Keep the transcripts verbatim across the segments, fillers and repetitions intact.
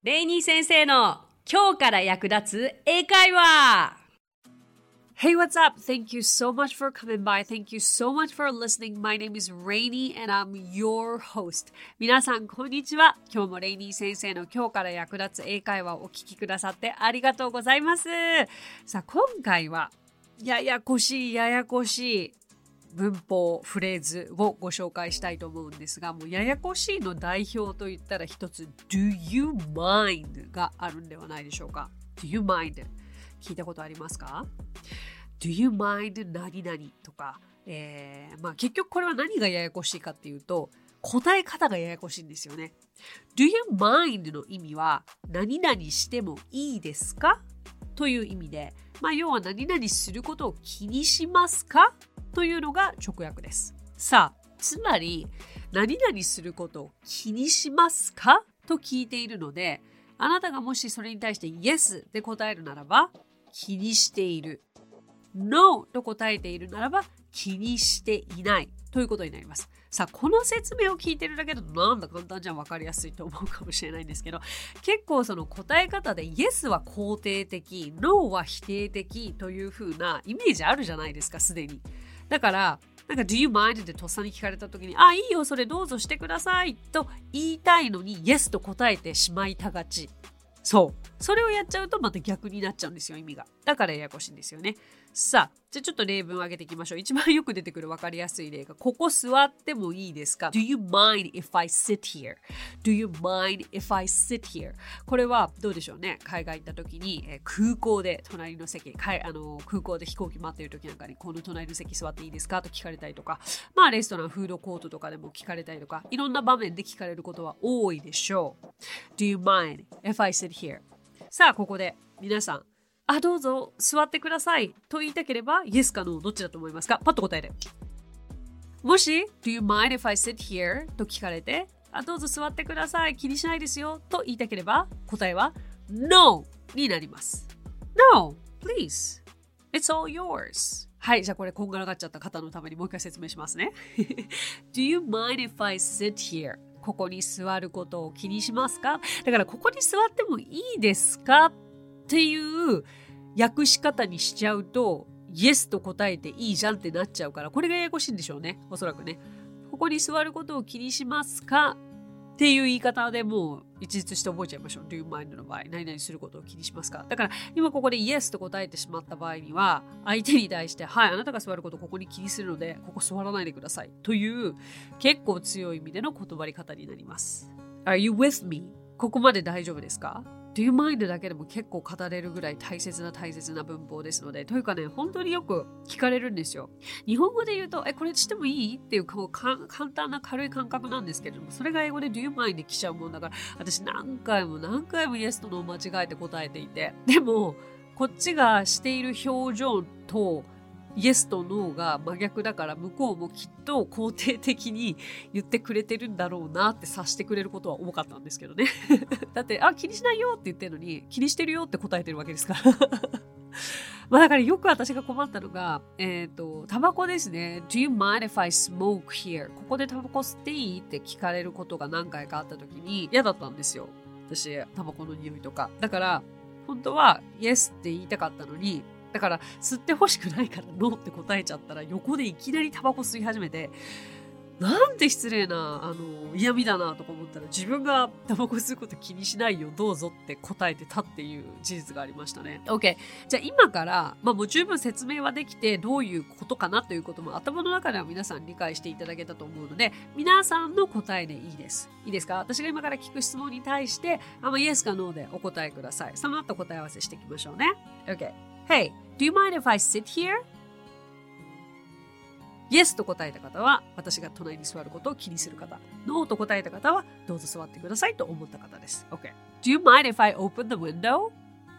レイニー先生の今日から役立つ英会話。 Hey, what's up? Thank you so much for coming by. Thank you so much for listening. My name is Rainy and I'm your host. 皆さん、こんにちは。今日もレイニー先生の今日から役立つ英会話をお聞きくださってありがとうございます。さあ、今回はややこしいややこしい文法、フレーズをご紹介したいと思うんですが、もうややこしいの代表といったら一つ Do you mind があるんではないでしょうか。 Do you mind 聞いたことありますか？ Do you mind 何々とか、えーまあ、結局これは何がややこしいかっていうと答え方がややこしいんですよね。 Do you mind の意味は何々してもいいですかという意味で、まあ、要は何々することを気にしますかというのが直訳です。さあ、つまり何々することを気にしますかと聞いているので、あなたがもしそれに対して Yes で答えるならば気にしている、 No と答えているならば気にしていないということになります。さあ、この説明を聞いてるだけだとなんだ簡単じゃん、分かりやすいと思うかもしれないんですけど、結構その答え方で Yes は肯定的、 No は否定的という風なイメージあるじゃないですか、すでに。だからなんか Do you mind ってとっさに聞かれた時に、あ、いいよ、それどうぞしてくださいと言いたいのに Yes と答えてしまいたがち。そう。それをやっちゃうとまた逆になっちゃうんですよ、意味が。だからややこしいんですよね。さあ、じゃあちょっと例文を挙げていきましょう。一番よく出てくる分かりやすい例が、ここ座ってもいいですか？ Do you mind if I sit here? Do you mind if I sit here? これはどうでしょうね。海外行った時に、えー、空港で隣の席、かいあの空港で飛行機待っている時なんかに、この隣の席座っていいですかと聞かれたりとか、まあレストラン、フードコートとかでも聞かれたりとか、いろんな場面で聞かれることは多いでしょう。Do you mind if I sit here? さあ、ここで皆さん、あ、どうぞ座ってくださいと言いたければ Yes か No どっちだと思いますか？パッと答えて。もし Do you mind if I sit here? と聞かれて、あ、どうぞ座ってください、気にしないですよと言いたければ答えは No になります。 No, please, it's all yours。 はい、じゃあこれこんがらがっちゃった方のためにもう一回説明しますねDo you mind if I sit here? ここに座ることを気にしますか？だからここに座ってもいいですかっていう訳し方にしちゃうと Yes と答えていいじゃんってなっちゃうから、これがややこしいんでしょうね、おそらくね。ここに座ることを気にしますかっていう言い方でもう一律して覚えちゃいましょう。 Do you mind の場合、何々することを気にしますか。だから今ここで Yes と答えてしまった場合には、相手に対して、はい、あなたが座ることをここに気にするのでここ座らないでくださいという結構強い意味での断り方になります。 Are you with me? ここまで大丈夫ですか？Do you mind だけでも結構語れるぐらい大切な大切な文法ですので、というかね、本当によく聞かれるんですよ。日本語で言うと、え、これしてもいいっていうこうか簡単な軽い感覚なんですけれども、それが英語で Do you mind で来ちゃうもんだから、私何回も何回も Yes と No 間違えて答えていて、でもこっちがしている表情とYes と No が真逆だから、向こうもきっと肯定的に言ってくれてるんだろうなって察してくれることは多かったんですけどねだってあ気にしないよって言ってるのに気にしてるよって答えてるわけですからまあだからよく私が困ったのが、えっとタバコですね。 Do you mind if I smoke here? ここでタバコ吸っていいって聞かれることが何回かあった時に嫌だったんですよ、私。タバコの匂いとかだから、本当は Yes って言いたかったのに、だから吸ってほしくないからノーって答えちゃったら、横でいきなりタバコ吸い始めて、なんて失礼なあの嫌味だなとか思ったら、自分がタバコ吸うこと気にしないよどうぞって答えてたっていう事実がありましたね。 OK、 じゃあ今から、まあ、もう十分説明はできて、どういうことかなということも頭の中では皆さん理解していただけたと思うので、皆さんの答えでいいですいいですか？私が今から聞く質問に対してあのイエスかノーでお答えください。その後答え合わせしていきましょうね。 OK、 Hey, do you mind if I sit here? Yes と答えた方は私が隣に座ることを気にする方。No と答えた方はどうぞ座ってくださいと思った方です。OK。Do you mind if I open the window?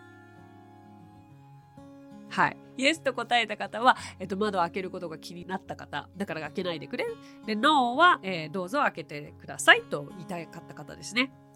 はい。Yes と答えた方は、えっと、窓を開けることが気になった方。だから開けないでくれ。で、No は、えー、どうぞ開けてくださいと言いたかった方ですね。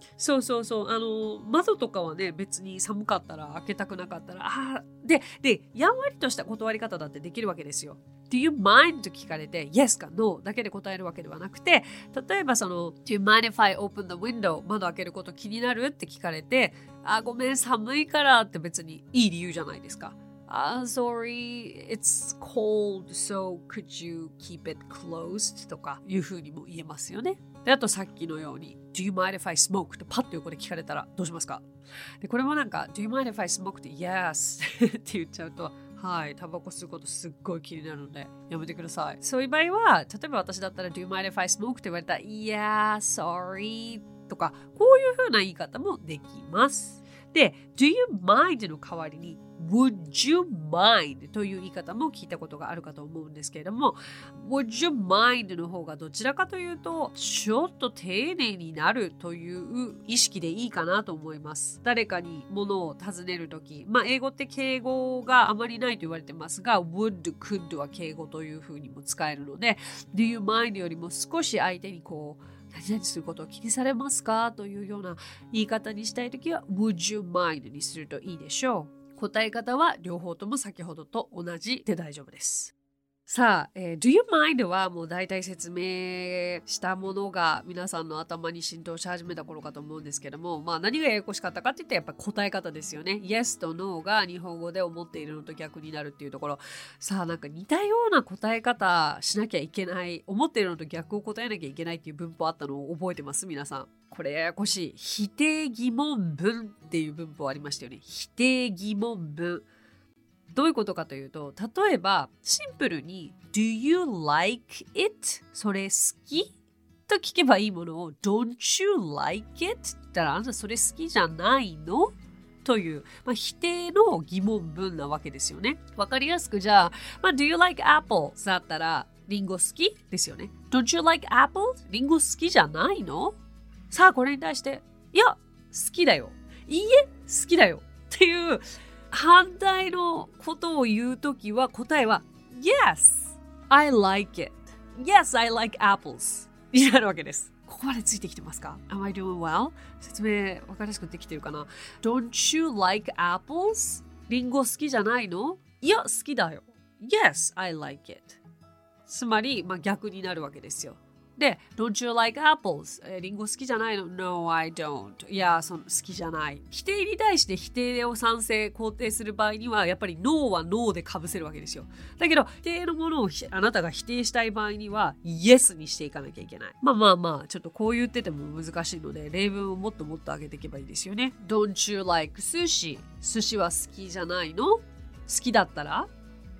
そうそうそう。あの、窓とかはね、別に寒かったら開けたくなかったら、あで、で、やんわりとした断り方だってできるわけですよ。Do you mind? と聞かれて、Yes か No だけで答えるわけではなくて、例えばその、Do you mind if I open the window? 窓開けること気になるって聞かれて、あ、ごめん、寒いからって別にいい理由じゃないですか。Ah, sorry, it's cold, so could you keep it closed? とかいうふうにも言えますよね。で、あとさっきのように Do you mind if I smoke? とパッと横で聞かれたらどうしますか？で、これもなんか Do you mind if I smoke? って Yes って言っちゃうとはい、タバコ吸うことすっごい気になるのでやめてください。そういう場合は、例えば私だったら Do you mind if I smoke? って言われたら Yeah, sorry とかこういうふうな言い方もできます。で、Do you mind? の代わりにWould you mind? という言い方も聞いたことがあるかと思うんですけれども Would you mind? の方がどちらかというとちょっと丁寧になるという意識でいいかなと思います。誰かに物を尋ねるとき、まあ英語って敬語があまりないと言われてますが Would, could は敬語というふうにも使えるので Do you mind? よりも少し相手にこう何々することを気にされますかというような言い方にしたいときは Would you mind? にするといいでしょう。答え方は両方とも先ほどと同じで大丈夫です。さあ、えー、Do you mind? はもう大体説明したものが皆さんの頭に浸透し始めた頃かと思うんですけども、まあ何がややこしかったかって言ったらやっぱ答え方ですよね。Yes と No が日本語で思っているのと逆になるっていうところ。さあなんか似たような答え方しなきゃいけない、思っているのと逆を答えなきゃいけないっていう文法あったのを覚えてます皆さん。これややこしい。否定疑問文っていう文法ありましたよね。否定疑問文。どういうことかというと、例えばシンプルに Do you like it? それ好き？と聞けばいいものを Don't you like it? って言ったらあんたそれ好きじゃないの？という、まあ、否定の疑問文なわけですよね。わかりやすくじゃあ、まあ、Do you like apples? だったらリンゴ好き？ですよね。Don't you like apples? リンゴ好きじゃないの？さあこれに対していや好きだよ。いいえ好きだよ。っていう反対のことを言うときは答えは Yes, I like it. Yes, I like apples. になるわけです。ここまでついてきてますか？ Am I doing well? 説明わかりやすくできてるかな？ Don't you like apples? リンゴ好きじゃないの？いや好きだよ。Yes, I like it. つまり、まあ、逆になるわけですよ。で、Don't you like apples? えー、リンゴ好きじゃないの？ No, I don't. いや、その好きじゃない。否定に対して否定を賛成、肯定する場合には、やっぱり No は No で被せるわけですよ。だけど、否定のものをあなたが否定したい場合には、Yes にしていかなきゃいけない。まあまあまあ、ちょっとこう言ってても難しいので、例文をもっともっと上げていけばいいですよね。Don't you like sushi? 寿司は好きじゃないの？好きだったら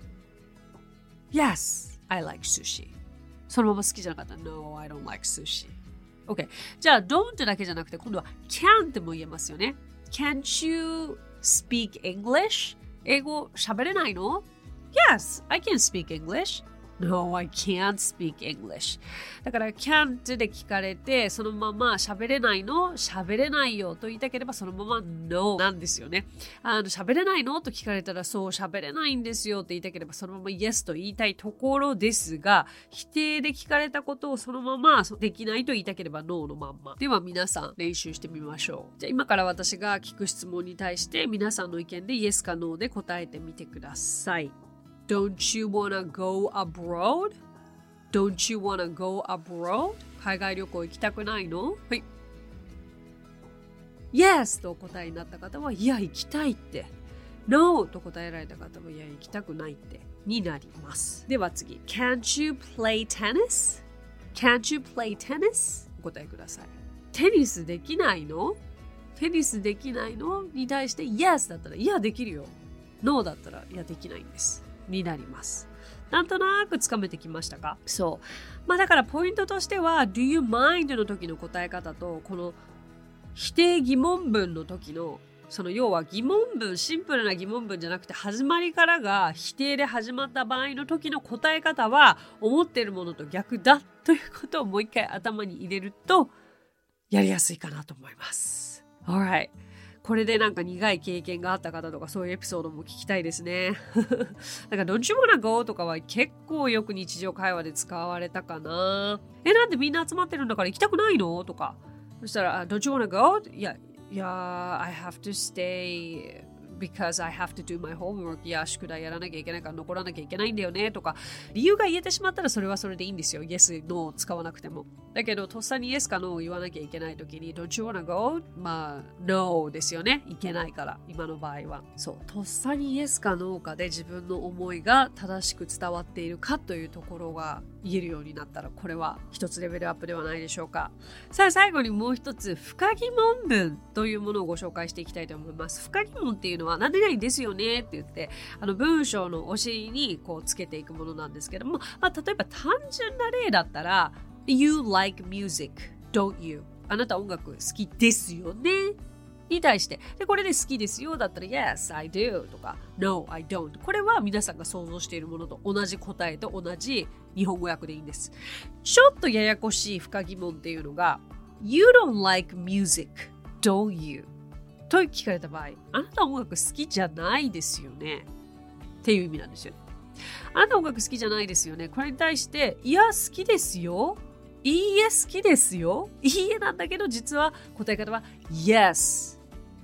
Yes, I like sushi.そのまま好きじゃなかったら No, I don't like sushi. OK. じゃあ don't だけじゃなくて今度は can't も言えますよね。Can't you speak English? 英語喋れないの？ Yes, I can speak English.No, I can't speak English. だから can't で聞かれてそのまま喋れないの？喋れないよと言いたければそのまま No なんですよね。あの喋れないのと聞かれたらそう喋れないんですよって言いたければそのまま Yes と言いたいところですが否定で聞かれたことをそのままできないと言いたければ No のまんま。では皆さん練習してみましょう。じゃあ今から私が聞く質問に対して皆さんの意見で Yes か No で答えてみてください。Don't you wanna go abroad? Don't you wanna go abroad? 海外旅行行きたくないの？はい。Yes とお答えになった方は、いや、行きたいって。No と答えられた方は、いや、行きたくないって。になります。では次。Can't you play tennis? Can't you play tennis? お答えください。テニスできないの？テニスできないの？に対して、Yes だったら、いや、できるよ。No だったら、いや、できないんです。になります。なんとなくつかめてきましたか？そう。まあだからポイントとしては Do you mind の時の答え方とこの否定疑問文の時のその要は疑問文、シンプルな疑問文じゃなくて始まりからが否定で始まった場合の時の答え方は思っているものと逆だということをもう一回頭に入れるとやりやすいかなと思います。Alright。これでなんか苦い経験があった方とかそういうエピソードも聞きたいですね。なんか Don't you wanna go とかは結構よく日常会話で使われたかな。え、なんでみんな集まってるんだから行きたくないのとか。 そしたら、Don't you wanna go? いや、いや、I have to stay because I have to do my homework. いや、宿題やらなきゃいけないから残らなきゃいけないんだよねとか、理由が言えてしまったらそれはそれでいいんですよ。Yes, No を使わなくても。だけど、とっさに Yes か No を言わなきゃいけないときに Don't you wanna go? まあ、No ですよね。いけないから、今の場合は。そう、とっさに Yes か No かで自分の思いが正しく伝わっているかというところが言えるようになったら、これは一つレベルアップではないでしょうか。さあ、最後にもう一つ、深疑問文というものをご紹介していきたいと思います。深疑問っていうのは、何々ですよねって言って、あの文章のお尻にこうつけていくものなんですけども、まあ、例えば単純な例だったら、You like music, don't you? あなた音楽好きですよねに対して、でこれで好きですよだったら Yes, I do とか No, I don't。 これは皆さんが想像しているものと同じ答えと同じ日本語訳でいいんです。ちょっとややこしい深疑問っていうのが You don't like music, don't you? と聞かれた場合、あなた音楽好きじゃないですよねっていう意味なんですよ。あなた音楽好きじゃないですよね。これに対して、いや好きですよ、いいえ好きですよ、いいえなんだけど実は答え方は Yes,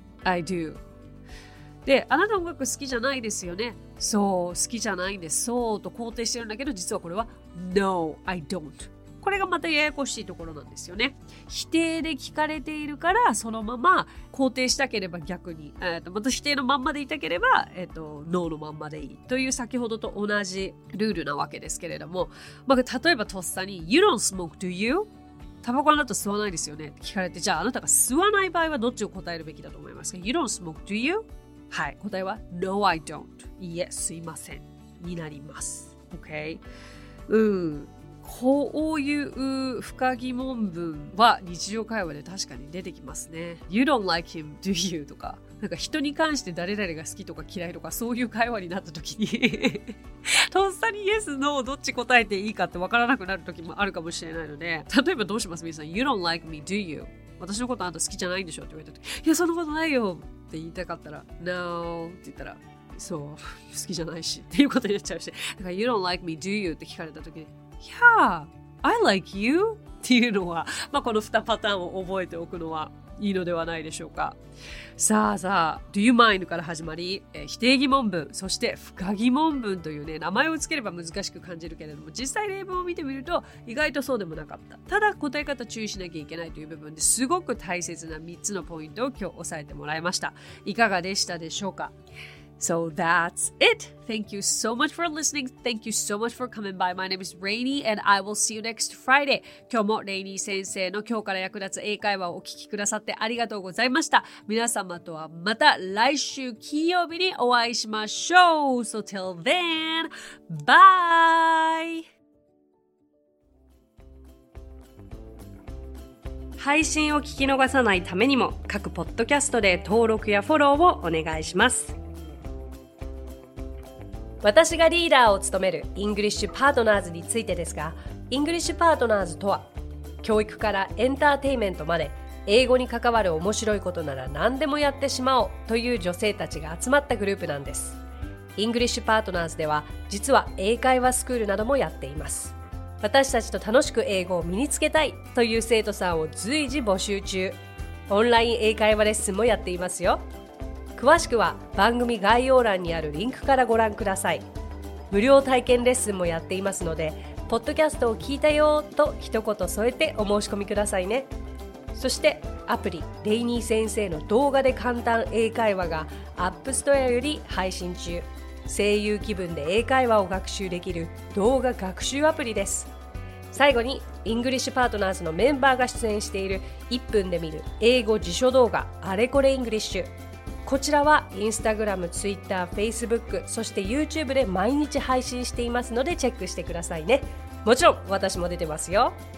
I do。 で、あなた音楽好きじゃないですよね。そう、好きじゃないんです。そうと肯定してるんだけど実はこれは No, I don't。これがまたややこしいところなんですよね。否定で聞かれているからそのまま肯定したければ逆に、えー、とまた否定のまんまでいたければ、えー、とノーのまんまでいいという先ほどと同じルールなわけですけれども、まあ、例えばとっさに You don't smoke, do you? タバコあなた吸わないですよねって聞かれて、じゃああなたが吸わない場合はどっちを答えるべきだと思いますか？ You don't smoke, do you? はい、答えは No, I don't。 いえ、吸いませんになります。 OK。 うんこういう深疑問文は日常会話で確かに出てきますね。You don't like him, do you? とか、なんか人に関して誰々が好きとか嫌いとかそういう会話になった時にとっさに Yes, No どっち答えていいかって分からなくなる時もあるかもしれないので、例えばどうします皆さん？ You don't like me, do you? 私のことあんた好きじゃないんでしょって言われた時、いやそんなことないよって言いたかったら No って言ったら、そう好きじゃないしっていうことになっちゃうし、だから You don't like me, do you? って聞かれた時にYeah, I like you っていうのは、まあ、このにパターンを覚えておくのはいいのではないでしょうか。さあさあ Do you mind から始まり、えー、否定疑問文、そして深疑問文というね、名前をつければ難しく感じるけれども、実際例文を見てみると意外とそうでもなかった。ただ答え方注意しなきゃいけないという部分ですごく大切なみっつのポイントを今日押さえてもらいました。いかがでしたでしょうか。So that's it. Thank you so much for listening. Thank you so much for coming by. My name is Rainy and I will see you next Friday. 今日もレイニー先生の今日から役立つ英会話をお聞きくださってありがとうございました。皆様とはまた来週金曜日にお会いしましょう。So till then, bye! 配信を聞き逃さないためにも各ポッドキャストで登録やフォローをお願いします。私がリーダーを務めるイングリッシュパートナーズについてですが、イングリッシュパートナーズとは教育からエンターテインメントまで英語に関わる面白いことなら何でもやってしまおうという女性たちが集まったグループなんです。イングリッシュパートナーズでは実は英会話スクールなどもやっています。私たちと楽しく英語を身につけたいという生徒さんを随時募集中。オンライン英会話レッスンもやっていますよ。詳しくは番組概要欄にあるリンクからご覧ください。無料体験レッスンもやっていますので、ポッドキャストを聞いたよと一言添えてお申し込みくださいね。そしてアプリレイニー先生の動画で簡単英会話がアップストアより配信中。声優気分で英会話を学習できる動画学習アプリです。最後にイングリッシュパートナーズのメンバーが出演しているいっぷんで見る英語辞書動画あれこれイングリッシュ。こちらはインスタグラム、ツイッター、フェイスブック、そして YouTube で毎日配信していますのでチェックしてくださいね。もちろん私も出てますよ。